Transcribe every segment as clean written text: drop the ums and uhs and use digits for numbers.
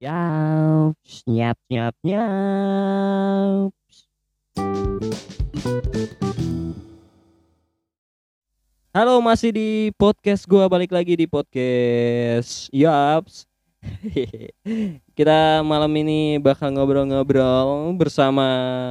Yaps, nyap nyap nyap. Halo, masih di podcast gua, balik lagi di podcast Yaps. Kita malam ini bakal ngobrol-ngobrol bersama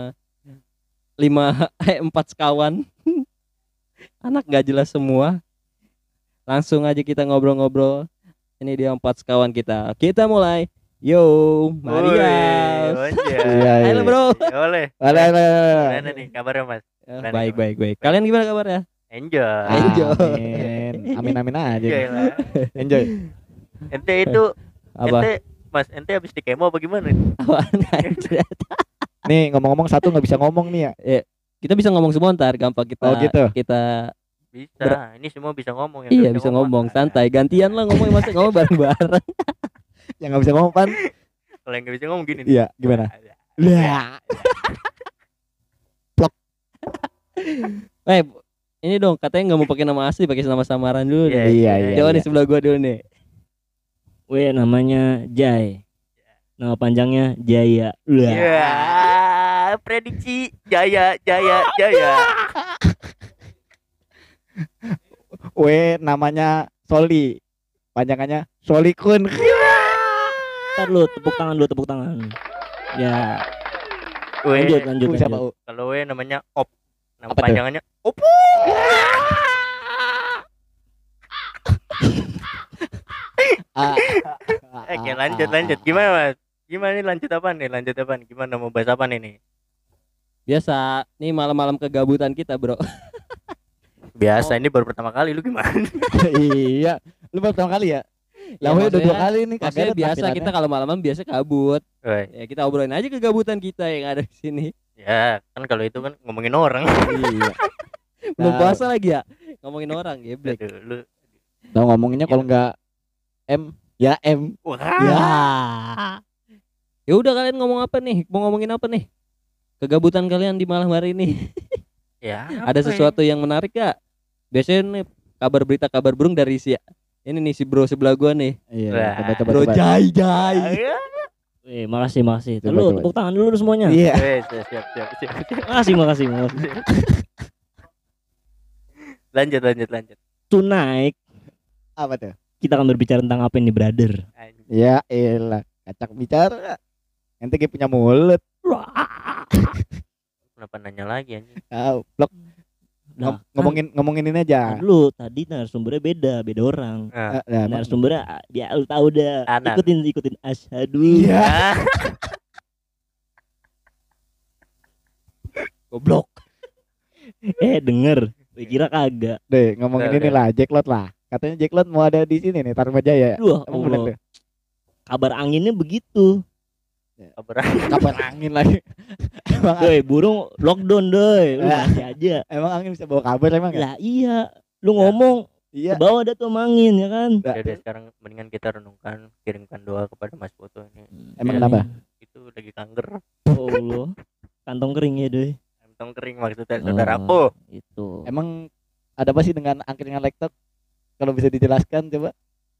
4 sekawan. Anak gak jelas semua. Langsung aja kita ngobrol-ngobrol. Ini dia 4 sekawan kita. Kita mulai. Yo, Maria. Halo bro. Boleh. Boleh. Gimana nih kabarnya Mas? Baik. Kalian gimana kabarnya? Enjoy. Amin aja. Enjoy lah. Enjoy. Ente itu Apa? ente habis di kemo apa gimana nih? Apaan anjir? Nih ngomong-ngomong satu nggak bisa ngomong nih ya. Kita bisa ngomong semua ntar, gampang kita. Oh gitu. Kita Bisa. Ini semua bisa ngomong iya bisa ngomong santai. Gantian lah ngomong, masa ngomong bareng-bareng. Yang nggak bisa ngomong pan. Kalau yang nggak bisa ngomong gini. Iya, gimana? Lah. Ini dong katanya nggak mau pakai nama asli, pakai nama samaran dulu Iya, nih. Iya. Coba nih sebelah gua dulu nih. Namanya Jai. Nama panjangnya Jaya. Iya. Prediksi Jaya. Namanya Soli. Panjangannya Solikun. Ntar lu tepuk tangan. Ya, W. lanjut. Siapa? Kalau W namanya Op. Nama Apa tuh? panjangannya Opo. Oke, lanjut. Gimana Mas? Gimana nih lanjut apa nih? Gimana mau bahas apa nih? Biasa nih malam-malam kegabutan kita, bro. Biasa, ini baru pertama kali, lu gimana? Iya. Lu baru pertama kali ya? Lah udah maksudnya- 2 kali nih Maksudnya biasa kita kalau malam-malam biasa kabut. Woi, Ya kita obrolin aja kegabutan kita yang ada di sini. ya kan kalau itu kan ngomongin orang. Iya. Belum Nah. puasa lagi ya? Ngomongin orang, geblek. Aduh, lu. Nah, ngomonginnya kalau nggak M ya M. Wah. Ya. Ya udah, kalian ngomong apa nih? Mau ngomongin apa nih? Kegabutan kalian di malam hari ini. Ya. Ada sesuatu yang menarik gak? Biasanya nih kabar berita kabar burung dari si ini nih si bro sebelah gua nih. Iya. Wah. Coba. Bro Jai. makasih. Coba, Lu coba. tepuk tangan dulu semuanya. Iya. Siap. Makasih. Lanjut. Tonight Apa tuh? kita akan berbicara tentang apa ini, brother? Ya elah, kacak bicara. Nanti kayak punya mulut. Kenapa nanya lagi anjing? Blok. Nah, Ngomongin ini aja. lu tadi narasumbernya beda orang. Nah, Narasumbernya ya lu tahu dah. Anak. Ikutin asyhadu. Iya. ah, Goblok. Denger. Gue kira kagak. Deh, ngomongin Udah, ini lah, Jacklot lah. Katanya Jacklot mau ada di sini nih, Tarumajaya. Wah, Emang bener tuh? kabar anginnya begitu. kabar. Kapan angin lagi? Emang, Doi, burung lockdown doi. Lu masih aja. emang angin bisa bawa kabar emang ya? Lah iya. Lu ngomong Iya. ke bawah ada tuh sama angin ya kan? Udah sekarang mendingan kita renungkan, kirimkan doa kepada Mas Foto ini. Emang Ya, kenapa? Itu lagi kanker, Oh lo. Kantong kering ya doi. kantong kering maksudnya saudaraku. Itu. Emang ada apa sih dengan angkringan laptop? Kalau bisa dijelaskan coba.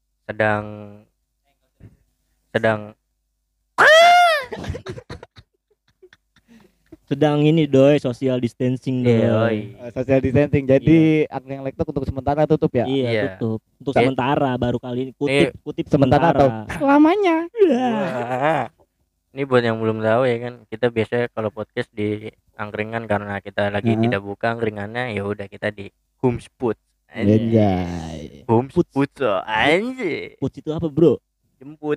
Sedang ini doi social distancing doi. Yoi. Social distancing. Jadi angkringan laptop untuk sementara tutup ya? Iya, Iya. tutup. Untuk Eh. sementara baru kali ini kutip Sementara atau selamanya? Wah. Ini buat yang belum tahu ya kan, kita biasanya kalau podcast di angkringan karena kita lagi tidak buka angkringannya, ya udah kita di Homesput. Anjay. Homesput anjir. Puts itu apa, Bro? Jemput.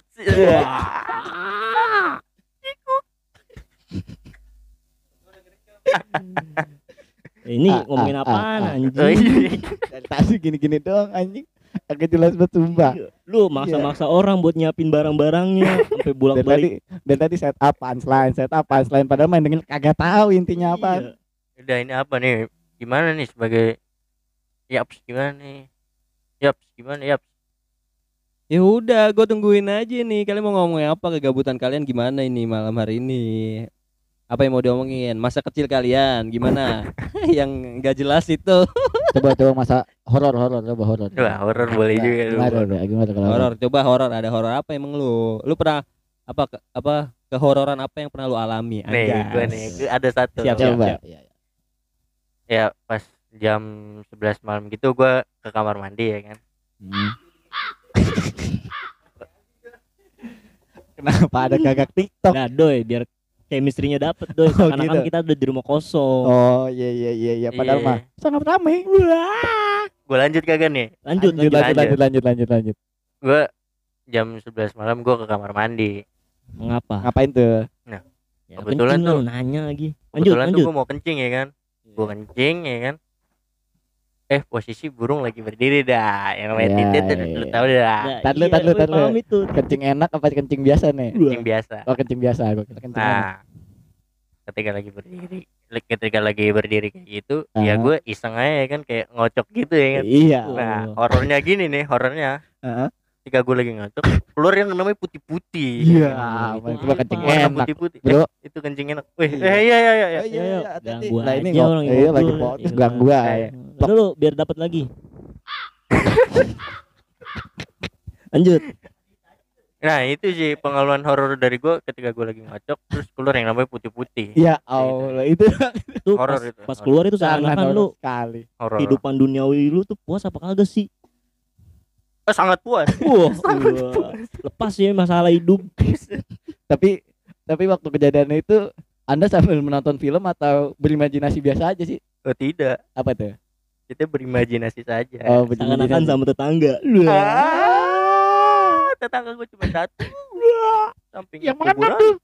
Ini ngomongin apaan Oh, anjing? iya. Dari tadi gini-gini doang anjing. Agak jelas banget sumpah. Lu maksa-maksa orang buat nyiapin barang-barangnya sampai Dan bolak-balik. tadi set up punchline padahal main dengan kagak tahu intinya apa. Iya. Udah ini apa nih? Gimana nih sebagai Yaps gimana nih? Yaps gimana Yaps? Ya udah, gue tungguin aja nih. Kalian mau ngomongin apa? Kegabutan kalian gimana ini malam hari ini? Apa yang mau diomongin? Masa kecil kalian gimana? Yang nggak jelas itu. Coba masa horor coba horor. Wah horor boleh juga lu. Gimana kalau Horor, coba horor. Ada horor apa emang lu? Lu pernah apa kehororan apa yang pernah lu alami? Nih, Anjas. gue nih, gue ada satu. Siap, loh. Coba. siap. Iya, iya. Ya pas jam 11 malam gitu gue ke kamar mandi ya kan. Hmm. Kenapa ada gagak TikTok? Nah, Doi, biar chemistry-nya dapet, Doi. Oh, Karena gitu. kan kita udah di rumah kosong. Oh iya iya iya iya. Padahal Iya. mah sangat ramai. Gue lanjut kagak nih? Lanjut, Lanjut lanjut. lanjut lanjut lanjut. Gue jam 11 malam gue ke kamar mandi. Mengapa? Ngapain tuh? Ya, Kebetulan kencing lah tuh- lu nanya lagi. Lanjut, Kebetulan tuh lanjut. gue mau kencing ya kan. Gue kencing ya kan. Posisi burung lagi berdiri dah. Yang namanya Ya, titit ya, lu ya. tahu dah. Nah, Tar lu, iya, tar lu, gue tar lu. paham itu. Kencing enak apa kencing biasa nih? Kencing biasa. Oh kencing biasa. Gue kira kencing enak. Nah, ketika lagi berdiri kayak gitu, ya Aha. gue iseng aja ya kan kayak ngocok gitu ya kan. Iya. Nah, Oh. horornya gini nih, horornya. Heeh. Ketika gue lagi ngocok, keluar yang namanya putih-putih. Iya. itu Itu mah kencing apa? Warna enak. putih-putih. Bro. Itu kencing enak. Wih, Iya. iya iya iya. Oh, iya. iya, Ayo, hati-hati. ganggu Lah ini aja orang iya lagi ngobrol. podcast Iya. ganggu aja. Udah lu biar dapat lagi. Lanjut. Nah, itu sih pengalaman horor dari gue ketika gue lagi ngocok terus keluar yang namanya putih-putih. Ya Allah itu Tuh Horor pas, itu, pas horor. keluar itu sangat seakan-akan lu horor sekali. Horor. kehidupan duniawi lu tuh puas apa kagak sih? Sangat puas. Wah, lepas ya masalah hidup. Tapi waktu kejadian itu Anda sambil menonton film atau berimajinasi biasa aja sih? Oh, tidak. Apa tuh? Kita berimajinasi saja. Oh, Seakan-akan berimajinasi. sama tetangga. Tetangga gue cuma satu. Samping Yang mana kuburan. tuh?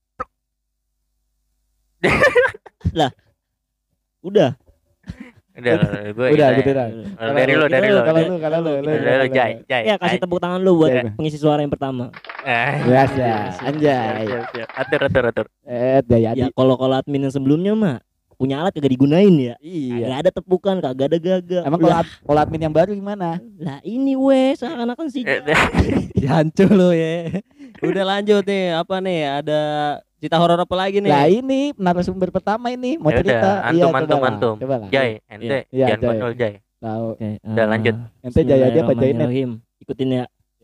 Udah. Udah, gue Udah gitu dah. Dari lo, dari lo. Kalau lu, Dari lo, Jai, Jai. Ya kasih tepuk tangan lu buat Jai. pengisi suara yang pertama. Biasa, anjay. Siap. Atur. Daya Ya kalau admin yang sebelumnya mah punya alat kagak digunain ya. Iya. Kagak ada tepukan, kagak ada gagal. Emang kalau admin yang baru gimana? Lah ini wes seakan-akan sih. Jancu lu ya. Udah lanjut nih, apa nih? Ada cerita horor apa lagi nih? Lah ini narasumber pertama ini mau Ya cerita. udah, Iya, antum. Coba lah. Jai, ente Iya, jangan Jai. konyol, Jai. Tahu. Oke, Udah, lanjut. Ente Jai aja apa Jainet? Bismillahirrahmanirrahim. Ikutin ya.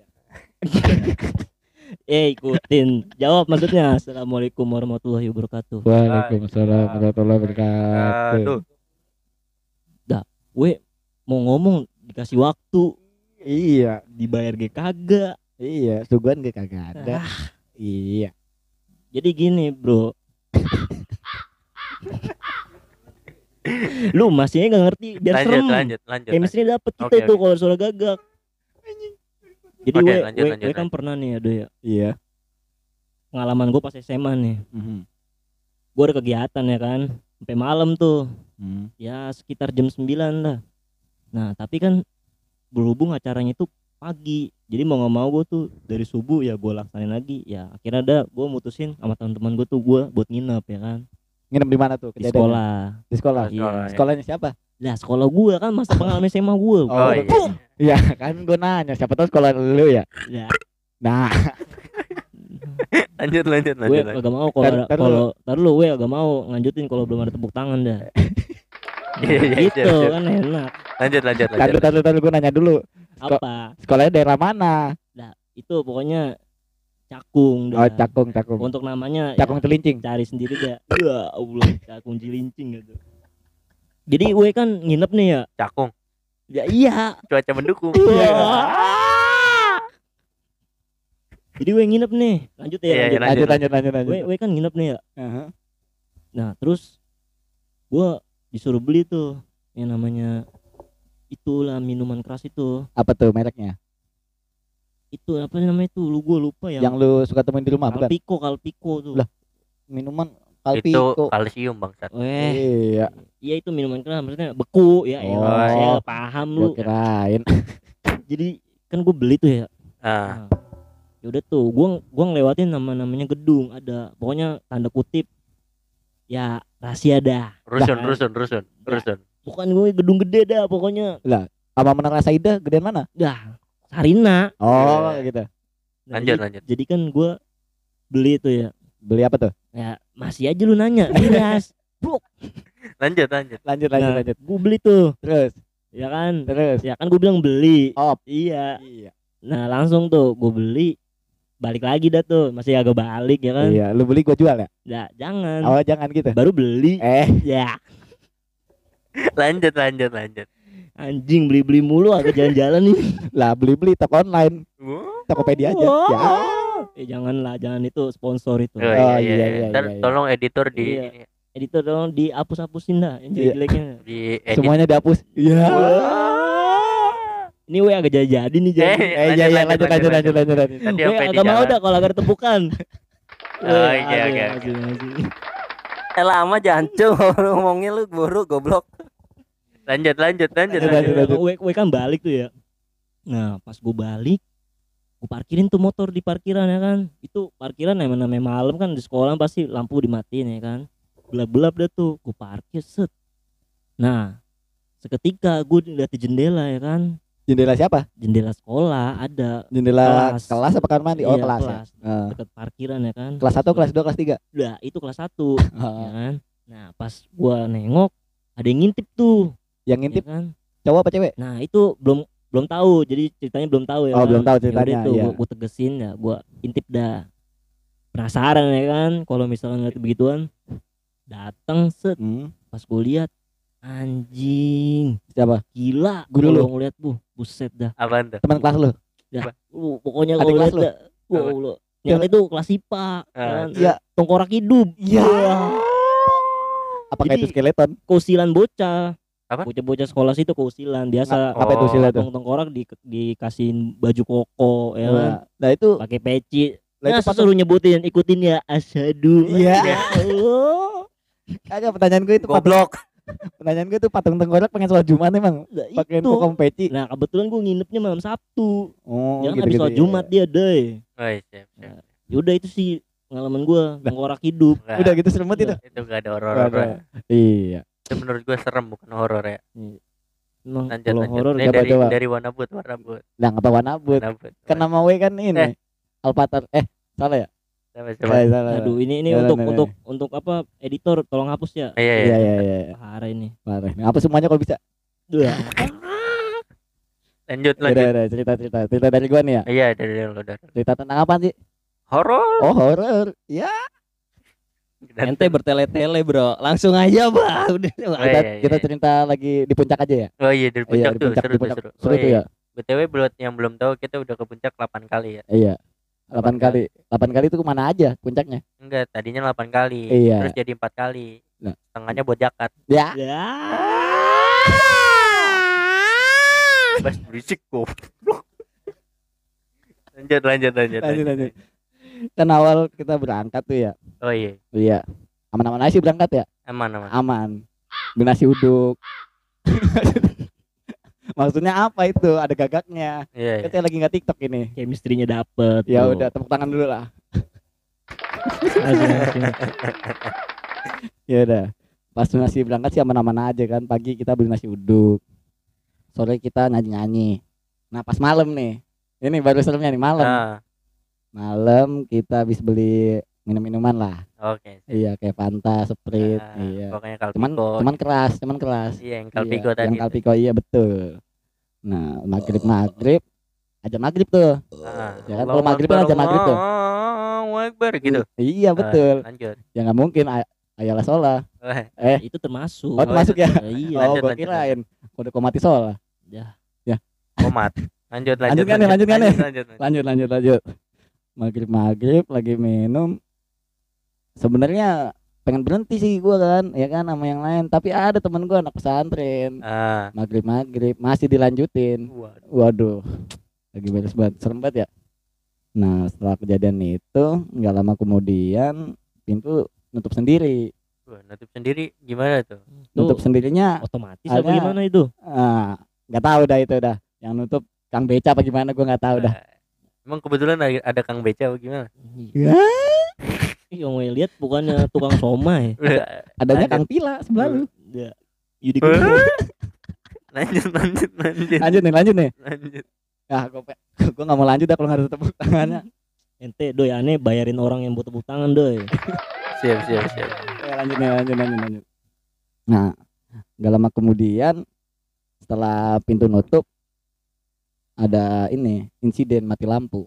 Ikutin. Jawab maksudnya. Assalamualaikum warahmatullahi wabarakatuh. Waalaikumsalam warahmatullahi wabarakatuh. Aduh. Gue mau ngomong dikasih waktu, Iya, dibayar ge kagak. iya, suguhan gak kagak ada. Iya. Jadi gini, Bro. Lu masih nggak ngerti biar serem. Lanjut. Chemistry dapet kita Oke, itu oke. kalau suara gagak. Jadi Oke, gue lanjut. kan pernah nih ada ya Iya. pengalaman gue pas SMA nih. Mhm. Gue ada kegiatan ya kan sampai malam tuh. Hmm. Ya sekitar jam 9 lah. Nah tapi kan berhubung acaranya itu pagi, jadi mau nggak mau gue tuh dari subuh ya gue laksanain lagi. Ya akhirnya ada gue mutusin sama teman-teman gue tuh gue buat nginep ya kan Nginep di mana tuh di kejadiannya? sekolah. Di sekolah. Iya. Sekolahnya siapa? Lah sekolah gue kan masa pengalaman SMA gue. Oh, iya. Iya, kan gue nanya siapa tahu sekolah lu ya. Ya, Nah, Lanjut. gue agak mau tar lu gue agak mau lanjutin kalau belum ada tepuk tangan dah. Iya, Gitu siap. kan enak. Lanjut. tadi gue nanya dulu. Apa? Sekolahnya daerah mana? Itu pokoknya Cakung Oh, dah. Cakung. Untuk namanya Cakung Celincing. cari sendiri dah. Ya Allah, Cakung Cilincing gitu. Jadi gue kan nginep nih ya. Cakung. Ya iya. Cuaca mendukung. Jadi gue nginep nih. Lanjut ya. Iya, lanjut. lanjut. Gue kan nginep nih ya. Aha. Nah, terus gue disuruh beli tuh yang namanya itulah minuman keras itu. Apa tuh mereknya? Itu apa namanya itu? Gue lupa ya. Yang lu suka temuin di rumah bukan? Kalpiko tuh. Lah. Minuman Itu Kalpiko. kalsium bangsat. Iya, Iya itu minuman keras maksudnya beku ya. Oh. elah, saya paham lu. gua kirain. Jadi kan gue beli tuh ya. Ah, Nah, ya udah tuh, gua ngelewatin namanya gedung ada, pokoknya tanda kutip ya rahasia dah. rusun. Bukan gue gedung gede dah pokoknya. Sama Menara Saida gedean mana? Dah, Sarina. Oh, Iya. gitu. Nah, Lanjut. Jadi kan gua beli tuh ya. Beli apa tuh? Ya masih aja lu nanya. Jelas. Lanjut. Lanjut. Nah, gua beli tuh, Terus. ya kan? Terus. Ya kan gua bilang beli. Op. Iya. Iya. Nah, langsung tuh gua beli. balik lagi dah tuh, masih agak balik ya kan. Iya, lu beli gua jual ya? Ya jangan. Oh, jangan gitu. Baru beli. Ya Lanjut lanjut lanjut. anjing beli-beli mulu agak jalan-jalan nih. Lah beli-beli toko online, Tokopedia aja. Ya. Janganlah, jangan itu sponsor itu. Oh, iya, iya, iya, iya. Ntar iya. tolong editor di Iya. Editor dong dihapus-hapusin dah yang Iya. jelek-jeleknya. di edit. Semuanya dihapus. Iya. Ini we agak jadi nih jadi. Iya, lanjut. Tadi We sampai di agak mau jalan. dah kalau agak tepukan. Oh, oke, oke, oke. Lama jancung ngomongnya lu buru goblok. Lanjut. Lanjut. We kan balik tuh ya. Nah pas gue balik, gue parkirin tuh motor di parkiran ya kan. Itu parkiran namanya malam kan, di sekolah pasti lampu dimatiin ya kan. Gelap-gelap dah tuh, gue parkir set. Nah seketika gue lihat di jendela ya kan. Jendela siapa? Jendela sekolah ada. Jendela Kelas. kelas apa kamar mandi? Oh, Iya, kelas. kelas. Ya. Dekat parkiran ya kan. Kelas 1, kelas 2, kelas 3. Udah itu kelas 1 ya kan. Nah pas gua nengok ada yang ngintip tuh Yang ya ngintip kan. cowok apa cewek? Nah itu belum tahu, jadi ceritanya belum tahu ya Oh, kan? belum tahu Ya udah ceritanya, tuh, iya. gua tegesin ya, gua intip dah. Penasaran ya kan, kalau misalnya ngeliat begituan, datang set, pas gua lihat anjing, Siapa? gila, Guru lu? kalau ngeliat buset dah. Apaan tuh? Teman kelas lu? Pokoknya Adik kalau kelas lihat lu? dah, lu yang itu kelas IPA, kan? Iya. Tengkorak hidup, Iya. Apakah Jadi- itu skeleton? keusilan bocah. Apa? Bocah-bocah sekolah situ keusilan biasa. Apa itu silat tuh? Tengkorak dikasihin baju koko ya kan, Nah, itu pakai peci. lah Nah, itu suruh nyebutin, ikutin ya asyhadu. Iya. Ya Allah. kagak pertanyaan gue itu Goblok. Pertanyaan gue itu patung tengkorak pengen sholat Jumat emang Nah, pakai itu. koko peci. Nah, kebetulan gue nginepnya malam Sabtu. Oh, Jangan habis sholat Jumat dia, deh. Oh, siap. Yaudah itu sih pengalaman gue, tengkorak hidup. Nggak, Udah gitu serem banget itu. itu gak ada horor. Nggak ada. Iya. Itu menurut gue serem bukan horor ya. Emang Lanjut kalau lanjut. horor Ini coba, dari coba. dari warna but. Nah, apa warna abut? Kan nama W kan ini. Alpatar. Salah ya? Coba. Salah. aduh ini Jalan, untuk jalan. untuk apa, editor tolong hapus ya. Iya, Iya, iya. iya. Parah ini. Parah. Apa semuanya kalau bisa? Udah. Lanjut. Udah, cerita dari gua nih ya. Iya, dari lo dari. Cerita tentang apa sih? Horor. Oh, horor. Ya, Ente bertele-tele bro. Langsung aja bang. Udah. kita cerita lagi di puncak aja ya. Oh iya, dari puncak Iya, di tuh puncak, seru di tuh puncak. seru. Seru Oh, tuh iya. ya. BTW buat yang belum tahu kita udah ke puncak 8 kali ya. Iya. 8 kali. 8 kali itu kemana aja puncaknya? Enggak, tadinya 8 kali. Iya. Terus jadi 4 kali. Nah. Setengahnya buat jakat. Ya. Ya. Bas berisik goblok. Lanjut. Lanjut. Kan awal kita berangkat tuh ya. Oh iya. Iya. Aman-aman aja sih berangkat ya. Aman. Aman. Beli nasi uduk. Maksudnya apa itu? Ada gagaknya. Iya. Kan saya lagi nggak TikTok ini. Chemistry-nya dapet. Ya tuh. udah, tepuk tangan dulu lah. Langsung. Ya udah. Pas nasi berangkat sih aman-aman aja kan. Pagi kita beli nasi uduk. Sore kita nyanyi-nyanyi. Nah, pas malam nih. Ini baru seremnya nih malam. Ah, Malam kita habis beli minum-minuman lah. oke. Iya, kayak Fanta, Sprite, Ah, iya. Pokoknya Cuman Kalpiko. cuman keras. Iya, yang Iya, Kalpiko tadi. Yang Kalpiko iya betul. Nah, maghrib aja maghrib tuh. Ya kan, kalau maghrib kan aja maghrib tuh. Allahu Akbar gitu. Iya betul. Lanjut. Ya nggak mungkin ayalah sholat. Itu termasuk. Oh, termasuk ya? Iya. Oh, Lanjut, gua lanjut, kirain kode komati sholat. Ya. Komat. Lanjut. Lanjut kan ya, lanjut kan ya? Lanjut. Lanjut. Maghrib lagi minum. Sebenarnya pengen berhenti sih gua kan, ya kan sama yang lain. Tapi ada temen gua anak pesantren. Ah. Maghrib masih dilanjutin. Waduh. Waduh, lagi beres banget, serem banget ya. Nah, setelah kejadian itu, nggak lama kemudian pintu nutup sendiri. Wah, nutup sendiri gimana tuh? Nutup sendirinya, Otomatis apa Akhirnya- gimana itu? nggak tahu dah itu dah. Yang nutup Kang Beca apa gimana, gua nggak tahu dah. Emang kebetulan ada Kang Beca apa gimana? Ya, Yang gue lihat bukannya tukang somai. adanya Lanjut. Kang Pila sebelah lu. Ya. Yudi Lanjut. Lanjut nih. Lanjut. Ya, gua nggak mau lanjut dah kalau nggak ada tepuk tangannya. ente doy aneh bayarin orang yang butuh tepuk tangan doy. Siap. Ya, lanjut. Nah, nggak lama kemudian setelah pintu nutup ada ini insiden mati lampu.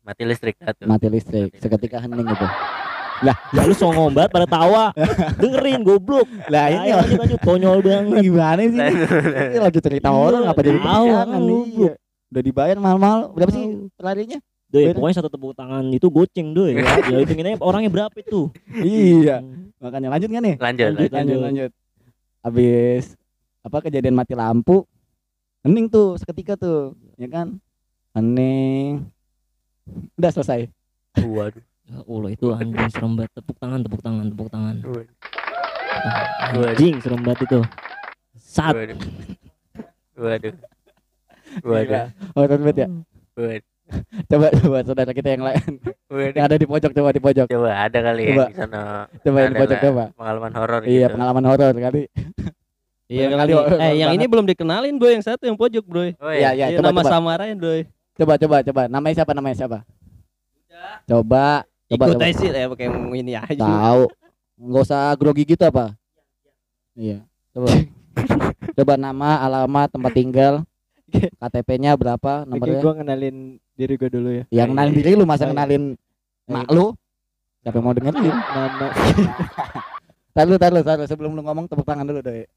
Mati listrik dah tuh. Mati listrik. Seketika hening itu. Ya lu songong banget pada tawa. Dengerin goblok. Lah Ayo, ini lanjut konyol banget. gimana sih? Ini lagi cerita orang apa jadi Tahu, perbincangan lu, iya. Udah dibayar mahal-mahal. Berapa sih pelarinya? Doi, Beda. pokoknya satu tepuk tangan itu goceng doi. Ya hitungin aja orangnya berapa itu. Iya. Makanya lanjut kan nih? Lanjut. Lanjut. Habis apa kejadian mati lampu, hening tuh seketika tuh, ya kan? Hening. Udah selesai. Waduh. Ya Allah itu anjing serem banget. Tepuk tangan. Waduh. Anjing serem banget itu. Sat. Waduh. Gila. Horor banget ya. Waduh. Coba saudara kita yang lain yang ada di pojok, coba di pojok. Coba ada kali Coba. ya di sana. Coba yang di Ada pojok lah coba. Pengalaman horor Iya, gitu. pengalaman horor kali. Iya Barangkali kali. horor Yang ini banget. belum dikenalin bro, yang satu yang pojok bro. Oh Iya, iya. iya, Iya, nama coba. samaran bro. Coba. Namanya siapa? Coba. Ikut aja sih pakai ini aja. Tahu. Enggak usah grogi gitu apa? Iya. Coba. Coba nama, alamat, tempat tinggal, KTP-nya berapa, Oke, nomornya. gue kenalin diri gue dulu ya. Yang kenalin diri lu, masa Oh, iya. kenalin mak lu? Siapa yang mau dengerin? Nama Taruh sebelum lu ngomong tepuk tangan dulu doi.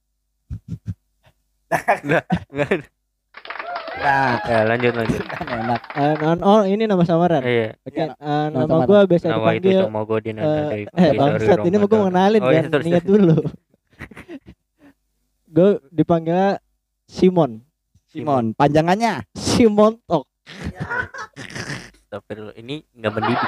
Nah, Ya, lanjut. kan enak. oh ini nama samaran. Iya. Oke, Iya, nama samaran. gue biasa Nama itu dipanggil Somogodin bangsat ini mau gue mau kenalin Oh, iya, kan. sorry. Ingat dulu. Gue dipanggilnya Simon. Panjangannya Simon Tok. Astagfirullah. Ini enggak mendidik.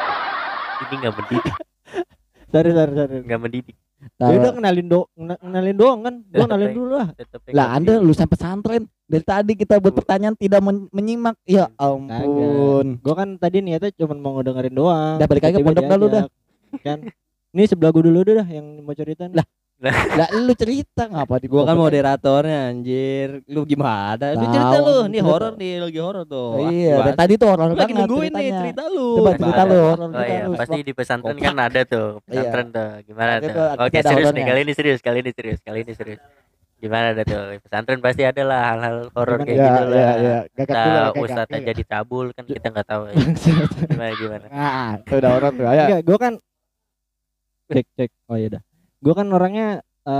Sorry. Enggak mendidik. Ya udah kenalin doang kan. Gue kenalin dulu lah. Tetep lah Anda lulusan pesantren. Dari tadi kita buat pertanyaan tidak menyimak. Ya ampun. Gue kan tadi niatnya cuma mau ngedengerin doang. Udah, balik lagi ke Tiba-tiba pondok dah lu diajak. Kan. Ini sebelah gue dulu dah yang mau cerita nih. Lah lu cerita ngapa di Gua kan moderatornya anjir. Lu gimana? Lu Tahu, cerita lu. Nih cerita. horor nih, lagi horor tuh. Iya, Wah, dari tadi tuh horor lagi banget nungguin nih ceritanya. cerita lu. Coba Gimana? cerita lu horor Oh cerita iya, lu. pasti di pesantren kan ada tuh. Pesantren tuh. Gimana Oke, tuh? tuh, Oke, kita ada serius nih. horornya. Kali ini serius. Gimana ada tuh? Di pesantren pasti ada lah hal-hal horor kayak Iya, gitu lah. iya. Gagak dulu, Entah gagak. ustadz Iya. aja dicabul kan kita nggak tahu ya. Gimana? Nah, itu udah horor tuh. Ayo. Enggak, gue kan cek. Oh iya dah. Gue kan orangnya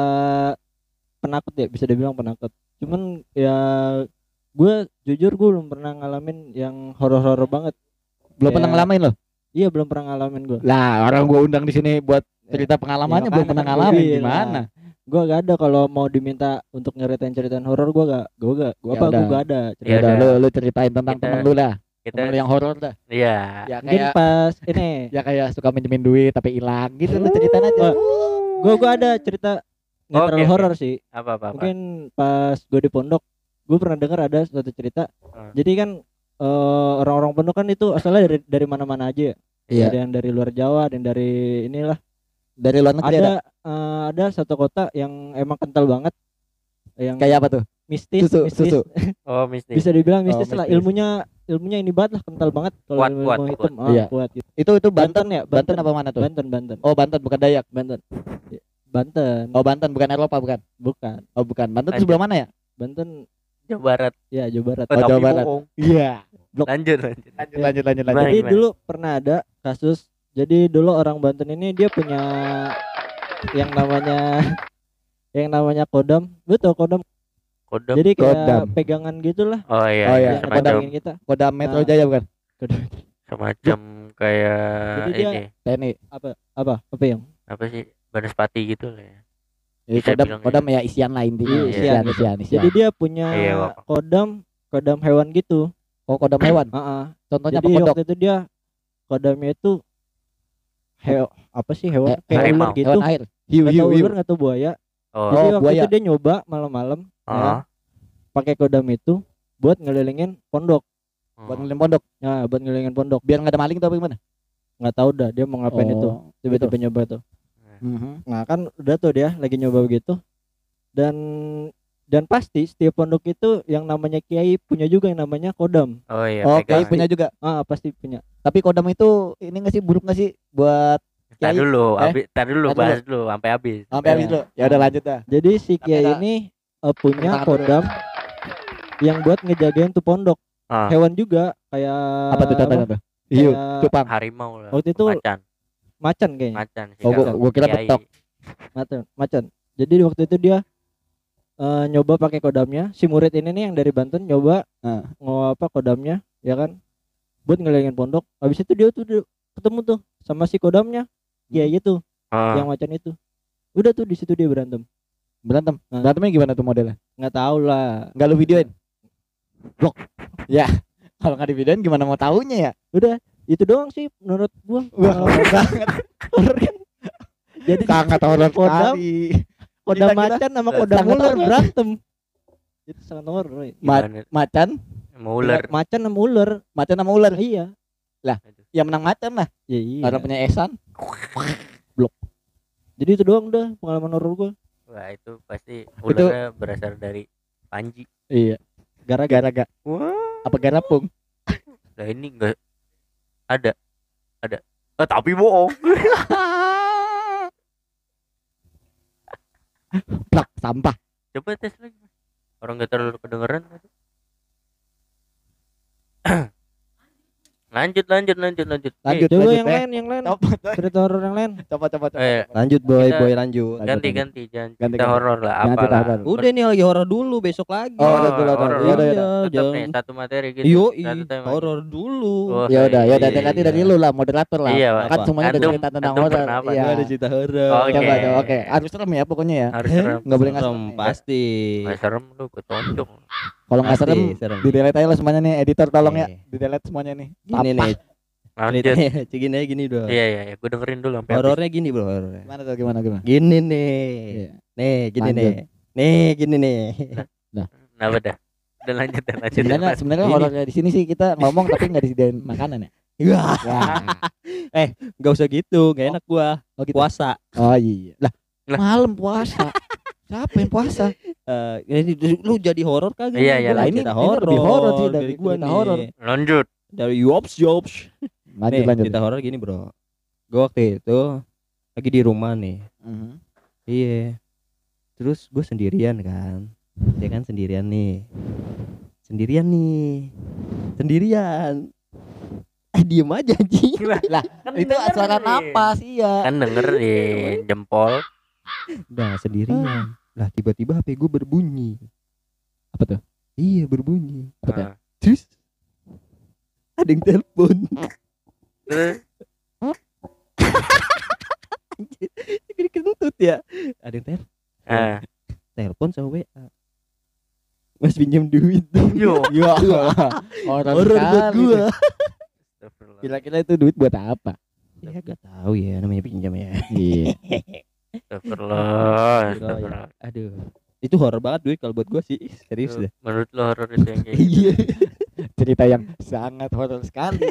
penakut ya, bisa dibilang penakut. Cuman ya gue jujur gue belum pernah ngalamin yang horor-horor banget. Belum Ya. pernah ngalamin loh. Iya belum pernah ngalamin gue. Lah, orang gua undang di sini buat cerita pengalamannya Ya, belum makanya pernah kan gua ngalamin bilang. gimana? Gue gak ada kalau mau diminta untuk nyeritain horor gue Ya gak udah. ada. Ya Ya udah udah. lu ceritain tentang Kita- temen lu dah. Kita Temen lu yang horor dah. iya. Ya Mungkin kayak pas ini suka minjemin duit tapi hilang gitu lu ceritain aja. gue ada cerita nggak Oke, terlalu oke. horor sih. Apa? Mungkin pas gue di pondok gue pernah dengar ada suatu cerita. Jadi kan orang-orang pondok kan itu asalnya dari mana-mana aja ya. Iya. Ada yang dari luar Jawa, ada yang dari inilah. Dari luar negeri ada. Ada satu kota yang emang kental banget. Yang Kayak apa tuh? mistis. Susu. Oh, mistis. Bisa dibilang mistis lah. mistis. Ilmunya ini banget lah, kental banget kalau Kuat, ilmu kuat, hitam. Iya. Kuat gitu. Itu Banten ya, Banten apa mana tuh? Banten. Oh, Banten bukan Dayak. Banten. Banten. Oh, Banten bukan Eropa bukan. Bukan. Oh, bukan. Banten itu sebelah mana ya? Banten Jawa Barat. ya Jawa Barat. Oh, Jawa Tapi Barat. bohong. Iya. Lanjut. Lanjut. Gimana? Jadi dulu pernah ada kasus. Jadi dulu orang Banten ini dia punya yang namanya kodam. Lu tau kodam? Kodam. Jadi kayak Kodam. pegangan gitulah. Oh iya, Oh, iya. iya. Yang Semacam ngedangin kita. Kodam Metro Nah. Jaya bukan? kayak Jadi dia- ini. TNI. Apa yang? Apa sih? Banaspati gitu lah ya. Jadi Bisa kodam bilang kodam ya isian lah intinya. Iya, Isian. Jadi dia punya Iya, Bapak. kodam hewan gitu. Oh, kodam hewan. Heeh. Contohnya Jadi apa kodok? waktu itu dia kodamnya itu apa sih hewan kayak harimau. ular gitu. Hewan air. Hiu Nggak hiu tahu hiu. ular nggak tahu buaya. Oh. Jadi waktu buaya. itu dia nyoba malam-malam Oh. ya, pakai kodam itu buat ngelilingin pondok. Buat ngeliling pondok. Nah, buat ngelilingin pondok. Biar nggak ada maling tuh apa gimana? Nggak tahu dah dia mau ngapain itu. Tiba-tiba nyoba tuh. Mhm. Nah, kan udah tuh dia lagi nyoba begitu. Dan pasti setiap pondok itu yang namanya kiai punya juga yang namanya kodam. Oh iya, Oh, pegang. kiai punya juga. Pasti punya. Tapi kodam itu ini nggak sih buruk nggak sih buat Tar kiai? dulu, Tar bahas dulu sampai habis. Sampai habis dulu. Ya udah lanjut dah. Jadi si Tapi kiai ada- ini punya Tangan kodam yang buat ngejagain tuh pondok. Ah. Hewan juga kayak Apa tuh contohnya tuh? Hiu, Kayak cupang. Harimau lah. Waktu itu macan kayaknya. macan sih. Oh, gua kira Kiai. betok. Macan. Jadi waktu itu dia nyoba pakai kodamnya. Si murid ini nih yang dari Banten nyoba kodamnya, ya kan? Buat ngelilingin pondok. Habis itu dia tuh ketemu tuh sama si kodamnya. Iya itu, yang macan itu. Udah tuh di situ dia berantem. Berantemnya gimana tuh modelnya? Nggak tahu lah. Nggak lu videoin? Blok. Ya. Kalau nggak di videoin gimana mau taunya ya? Udah, itu doang sih menurut gua. Wah, banget. Horor kan. Jadi Sangat horor kodam, sekali. kodam Kita- macan sama kodam sangat ular horor. berantem. Itu sangat horor. Gimana? Macan, Mau ular. Macan sama ular. macan sama ular. Iya. Yang menang macan lah. Ya, iya. Orang punya Esan. Jadi itu doang udah pengalaman horor gua. Wah, itu pasti ularnya berasal dari Panji. Iya. Gara-gara gak. Wah. Apa garapung? Lah ini enggak ada. Tapi bohong. Plak, sampah. Coba tes lagi. Orang enggak terlalu kedengeran. Lanjut. Lanjut. Coba lanjut, yang lain. Coba, Cerita horor yang lain. coba. Lanjut boy, Kita- lanjut. Ganti jangan Ganti. cerita horor lah Jangan apa cerita lah. horor. Udah nih lagi horor dulu, besok lagi. Oh, udah, udah. horor. Iya, udah. Tetap jangan. nih satu materi gitu. Yo, Satu tema. horor dulu. Oh, Ya udah, iya, nanti iya. dari lu lah moderator lah. Iya, Kan Pak. semuanya ada Antum- cerita tentang antum horor. pernah apa? Iya. Gua ada cerita horor. Oke. Coba, oke. Harus serem ya pokoknya ya. Harus serem. Nggak boleh nggak Serem, serem. pasti. Nggak serem lu ketonjok. Kalau nggak Pasti serem, di delete aja lah semuanya nih. Editor tolong ya, Oke. di delete semuanya nih. Gini Sampah. nih, Lanjut. ceritanya gini aja gini dong. Iya, gue dengerin dulu sampai habis. Horornya gini bro, horornya. Gimana tuh gimana? Gini nih. Iya. Nih, gini Lanjut. nih. Nih, gini nih. Kenapa dah? Udah lanjut. Sebenarnya Ini. horornya di sini sih kita ngomong tapi nggak disediain makanan ya. Wah, Ya. enggak usah gitu, enggak enak gua. Oh gitu. Puasa. Oh iya. Lah, Lah. malam puasa. Siapa yang puasa? Ini lu jadi horor kagak? Iya, iya, Gua lanjut. cerita Ini lebih horor sih dari gua cerita nih. horor. Lanjut. Dari Yops. Lanjut. Cerita horor gini, Bro. Gua waktu itu lagi di rumah nih. Mhm. Iya. Terus gue sendirian kan. Ya kan sendirian nih. Sendirian. Diem aja anjing. Lah, itu suara napas iya. Kan denger di jempol. Nah, sendirian. Lah tiba-tiba HP gue berbunyi. Apa tuh? Iya, berbunyi. Apa tuh? Nah, Terus ada yang telepon. terus Jadi kentut ya. Ada yang ah, telepon sama WA. Mas pinjam duit. yo. Ya. Horor Horor buat sekali. gua. Astagfirullah. Kira-kira itu duit buat apa? Ya gak tahu ya namanya pinjam ya. Iya. Astagfirullah. Aduh. Itu horor banget duit kalau buat gua sih. Serius deh. Menurut lo horor itu yang kayak gitu? Iya. Cerita yang sangat horor sekali.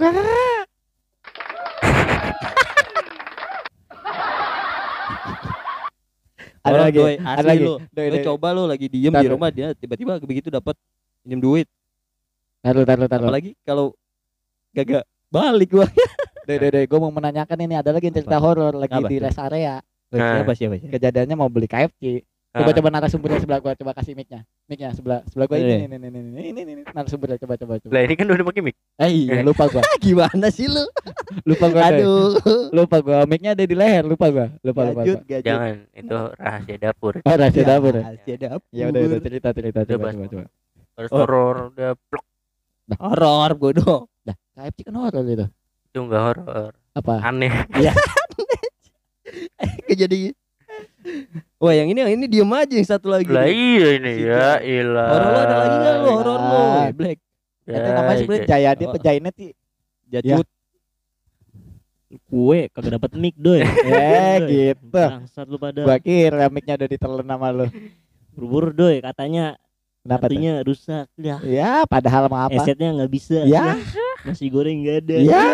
Ada Horor, lagi, Doi. ada Asli lagi. lu. Doi, Lu doi. coba lu lagi diem Ntar di lu. rumah dia tiba-tiba begitu dapat pinjam duit. Taruh. Apalagi kalau gak balik gua. Doi, gue mau menanyakan ini ada lagi yang cerita Apa? horor lagi Apa di tuh? rest area. Siapa? Kejadiannya mau beli KFC. Ah. Coba narasumbernya sebelah gua, coba kasih mic-nya. Mic-nya sebelah gua Ini. ini narasumbernya coba. Lah ini kan udah pakai mic. Iya, lupa gua. Gimana sih lu? Lupa gua. Doi. Aduh. Lupa gua, mic-nya ada di leher, lupa gua. Lupa. Gajut. Jangan, itu rahasia dapur. Oh, rahasia dapur. Ya Rahasia dapur. Ya udah cerita coba. Terus Oh. horor udah plok. Horor bodoh. Dah, KFC kan horor itu. Itu enggak horor. Apa? Aneh. Jadi wah yang ini diem aja yang satu lagi. Lah iya ini Si ya, Jack. ilah. Horor lu ada lagi enggak lu horor lu? Ah. Black. Ya, Ada namanya sebenarnya Jayadi apa Jainet sih? Jatut. Kue kagak dapat mic doy. Gitu. Bangsat lu pada. Gua kira mic-nya udah ditelan sama lu. Buru-buru doy katanya Kenapa tuh? kartunya rusak. Ya, Ya, padahal mau apa? esetnya nggak bisa. Ya. Nasi goreng nggak ada. Ya.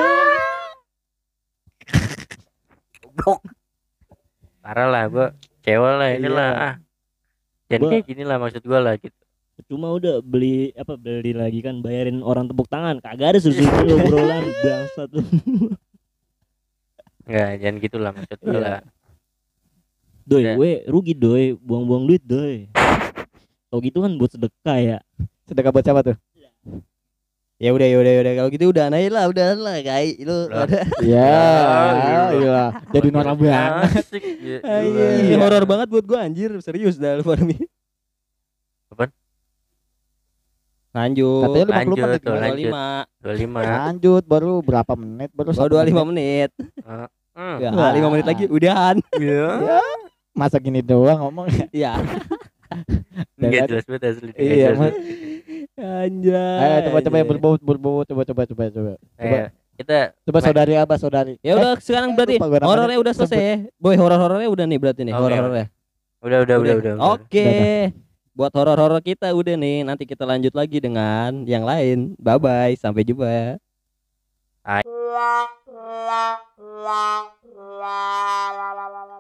Goblok. Parah lah gua kecewa lah inilah. Iya. Ah. Jadi Gua- kayak gini lah maksud gua lah gitu. Cuma udah beli lagi kan bayarin orang tepuk tangan. Kagak ada susu obrolan bangsat lu. Enggak, jangan gitulah maksud gua Iya. lah. Doy, Ya. gue rugi doy, buang-buang duit doy. Tau gitu kan buat sedekah ya. Sedekah buat siapa tuh? Ya udah kalau gitu udah naik lah, udah lah kayak lu Lah. ada. Ya, iya. iya. Jadi norak banget. Asik, iya, Ini gila. horor banget buat gua anjir, serius dah lu Farmi. Apaan? Lanjut. Katanya 50 Lanjut menit. tuh, Gimana? lanjut. 25. 25. Lanjut baru berapa menit? Baru Oh, 25 menit. Ya, Wah. 5 menit lagi udahan. Iya. Masa gini doang ngomong ya? Ya. Enggak jelas banget asli. Nggak Iya, jelas Mas. banget. Anjay. Ayo coba anjay. berbau coba. Kita Coba saudari apa saudari? Ya udah sekarang berarti lupa gua namanya. horornya udah selesai ya. Boy, horor-horornya udah nih berarti nih, Oke, horor-horornya. udah. Oke. Buat horor-horor kita udah nih, nanti kita lanjut lagi dengan yang lain. Bye bye, sampai jumpa. Hai. la la la la la la la la